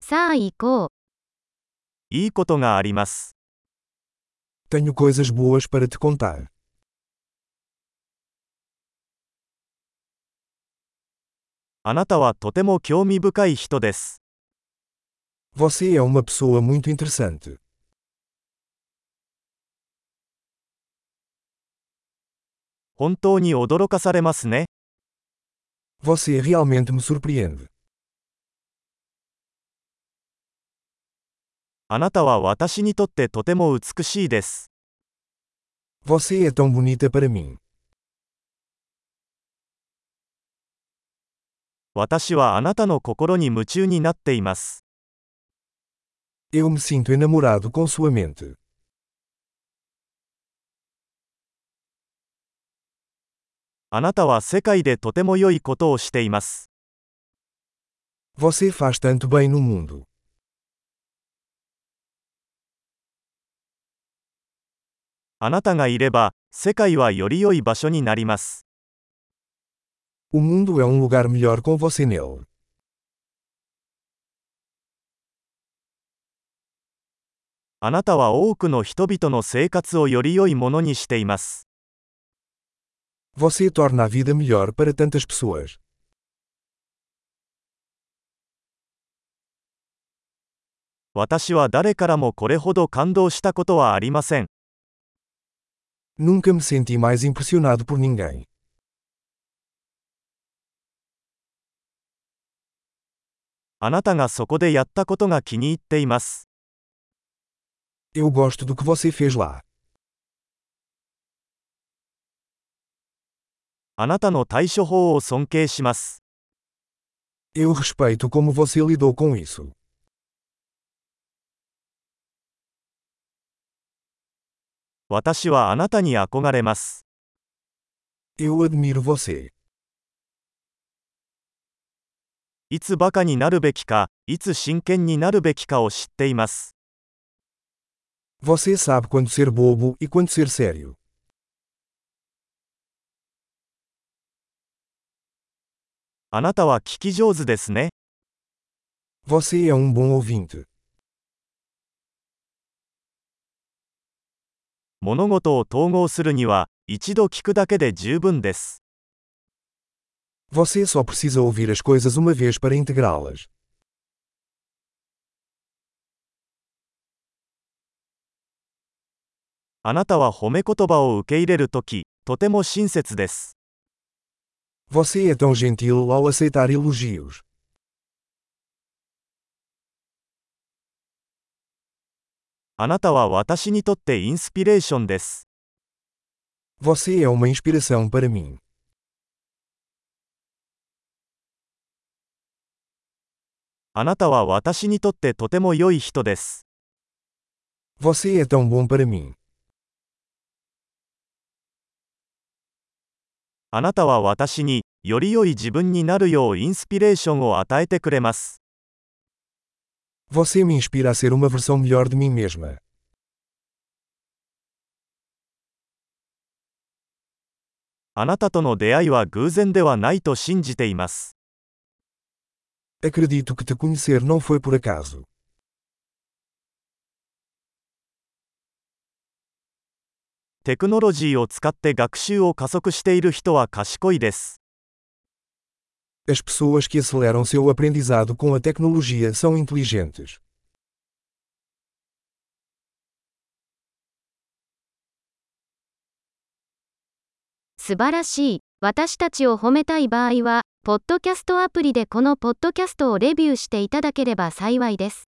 さあ行こう。 いいことがあります。 Tenho coisas boas para te contar. あなたはとても興味深い人です。 Você é uma pessoa muito interessante. 本当に驚かされますね。 Você realmente me surpreende. あなたは私にとってとても美しいです。 Você é tão bonita para mim. 私はあなたの心に夢中になっています。 Eu me sinto enamorado com sua mente. あなたは世界でとても良いことをしています。 Você faz tanto bem no mundo. あなたがいれば、世界はより良い場所になります。 O mundo é um lugar melhor com você nele. あなたは多くの人々の生活をより良いものにしています。 Você torna a vida melhor para tantas pessoas. 私は誰からもこれほど感動したことはありません。 Nunca me senti mais impressionado por ninguém. あなたがそこでやったことが気に入っています。 Eu gosto do que você fez lá. あなたの対処法を尊敬します。 Eu respeito como você lidou com isso. 私はあなたに憧れます。 Eu admiro você. いつバカになるべきか、いつ真剣になるべきかを知っています。 Você sabe quando ser bobo e quando ser sério. あなたは聞き上手ですね。 Você é um bom ouvinte. 物事を統合するには、一度聞くだけで十分です。 Você só precisa ouvir as coisas uma vez para integrá-las. あなたは褒め言葉を受け入れるとき、とても親切です。 Você é tão gentil ao aceitar elogios. あなたは私にとってインスピレーションです。 Você é uma inspiração para mim. あなたは私にとってとても良い人です。 Você é tão bom para mim. あなたは私に、より良い自分になるようインスピレーションを与えてくれます。 Você me inspira a ser uma versão melhor de mim mesma. あなたとの出会いは偶然ではないと信じています。 Acredito que te conhecer não foi por acaso. テクノロジーを使って学習を加速している人は賢いです。 As pessoas que aceleram seu aprendizado com a tecnologia são inteligentes. 素晴らしい。私たちを褒めたい場合は、ポッドキャストアプリでこのポッドキャストをレビューしていただければ幸いです。